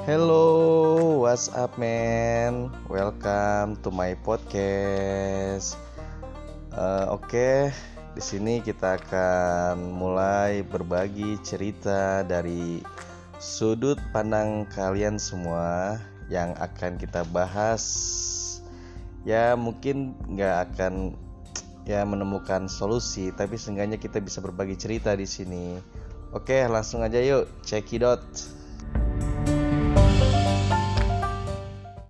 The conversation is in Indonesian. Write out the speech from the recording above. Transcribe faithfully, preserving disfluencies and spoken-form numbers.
Hello, what's up man? Welcome to my podcast. Eh, Oke, di sini kita akan mulai berbagi cerita dari sudut pandang kalian semua yang akan kita bahas. Ya mungkin nggak akan ya menemukan solusi, tapi seenggaknya kita bisa berbagi cerita di sini. Oke, langsung aja yuk, check it out.